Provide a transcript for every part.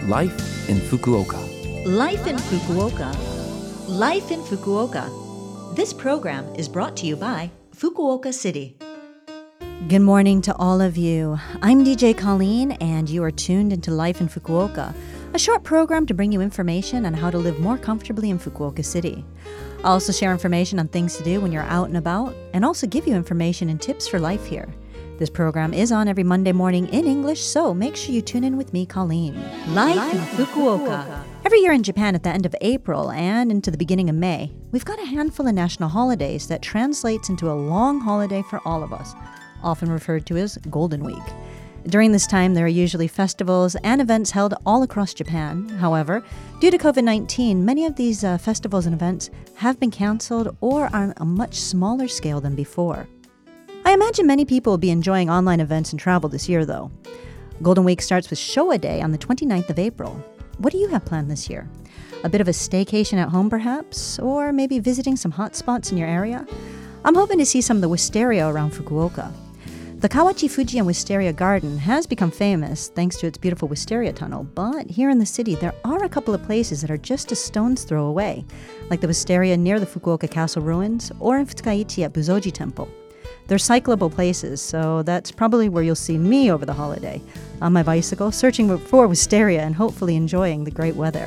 Life in Fukuoka. Life in Fukuoka. Life in Fukuoka. This program is brought to you by Fukuoka City. Good morning to all of you. I'm DJ Colleen, and you are tuned into Life in Fukuoka, a short program to bring you information on how to live more comfortably in Fukuoka City. I'll also share information on things to do when you're out and about, and also give you information and tips for life here. This program is on every Monday morning in English, so make sure you tune in with me, Colleen. Life in Fukuoka. Every year in Japan at the end of April and into the beginning of May, we've got a handful of national holidays that translates into a long holiday for all of us, often referred to as Golden Week. During this time, there are usually festivals and events held all across Japan. However, due to COVID-19, many of these festivals and events have been canceled or are on a much smaller scale than before. I imagine many people will be enjoying online events and travel this year, though. Golden Week starts with Showa Day on the 29th of April. What do you have planned this year? A bit of a staycation at home, perhaps? Or maybe visiting some hot spots in your area? I'm hoping to see some of the wisteria around Fukuoka. The Kawachi Fujian Wisteria Garden has become famous thanks to its beautiful wisteria tunnel, but here in the city there are a couple of places that are just a stone's throw away, like the wisteria near the Fukuoka Castle ruins or in Futsukaichi at Buzoji Temple. They're cyclable places, so that's probably where you'll see me over the holiday, on my bicycle, searching for wisteria and hopefully enjoying the great weather.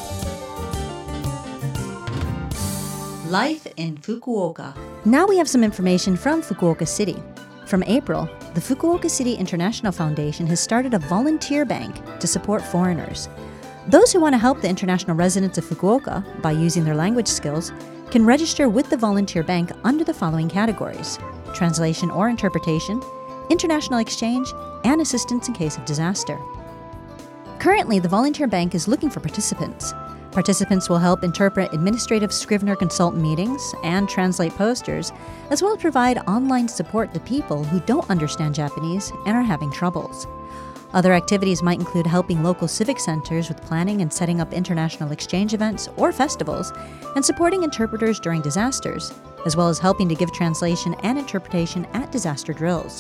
Life in Fukuoka. Now we have some information from Fukuoka City. From April, the Fukuoka City International Foundation has started a volunteer bank to support foreigners. Those who want to help the international residents of Fukuoka by using their language skills can register with the volunteer bank under the following categories: translation or interpretation, international exchange, and assistance in case of disaster. Currently, the volunteer bank is looking for participants. Participants will help interpret administrative Scrivener consultant meetings and translate posters, as well as provide online support to people who don't understand Japanese and are having troubles. Other activities might include helping local civic centers with planning and setting up international exchange events or festivals, and supporting interpreters during disasters, as well as helping to give translation and interpretation at disaster drills.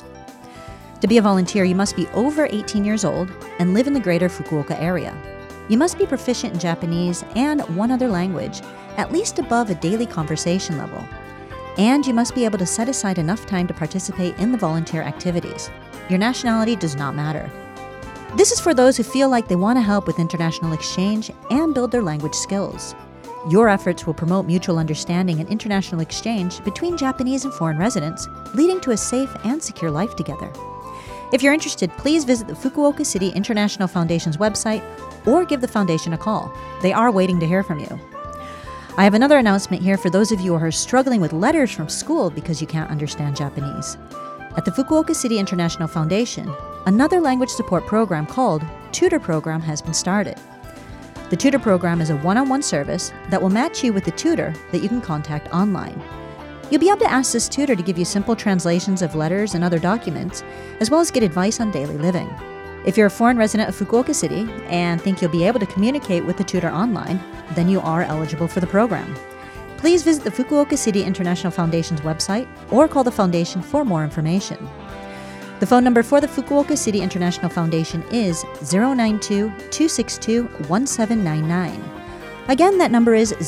To be a volunteer, you must be over 18 years old and live in the greater Fukuoka area. You must be proficient in Japanese and one other language, at least above a daily conversation level. And you must be able to set aside enough time to participate in the volunteer activities. Your nationality does not matter. This is for those who feel like they want to help with international exchange and build their language skills. Your efforts will promote mutual understanding and international exchange between Japanese and foreign residents, leading to a safe and secure life together. If you're interested, please visit the Fukuoka City International Foundation's website or give the foundation a call. They are waiting to hear from you. I have another announcement here for those of you who are struggling with letters from school because you can't understand Japanese. At the Fukuoka City International Foundation, another language support program called Tutor Program has been started. The Tutor Program is a one-on-one service that will match you with a tutor that you can contact online. You'll be able to ask this tutor to give you simple translations of letters and other documents, as well as get advice on daily living. If you're a foreign resident of Fukuoka City and think you'll be able to communicate with the tutor online, then you are eligible for the program. Please visit the Fukuoka City International Foundation's website or call the foundation for more information. The phone number for the Fukuoka City International Foundation is 092-262-1799. Again, that number is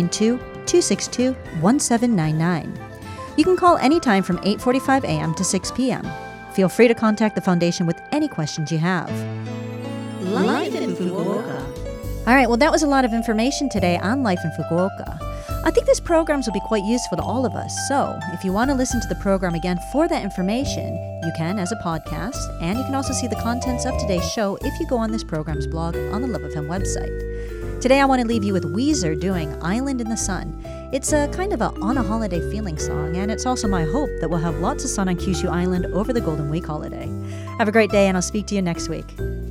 092-262-1799. You can call anytime from 8:45 a.m. to 6 p.m. Feel free to contact the foundation with any questions you have. Life in Fukuoka. All right, well, that was a lot of information today on Life in Fukuoka. I think these programs will be quite useful to all of us, so if you want to listen to the program again for that information, you can as a podcast, and you can also see the contents of today's show if you go on this program's blog on the Love FM website. Today I want to leave you with Weezer doing Island in the Sun. It's a kind of a on-a-holiday feeling song, and it's also my hope that we'll have lots of sun on Kyushu Island over the Golden Week holiday. Have a great day, and I'll speak to you next week.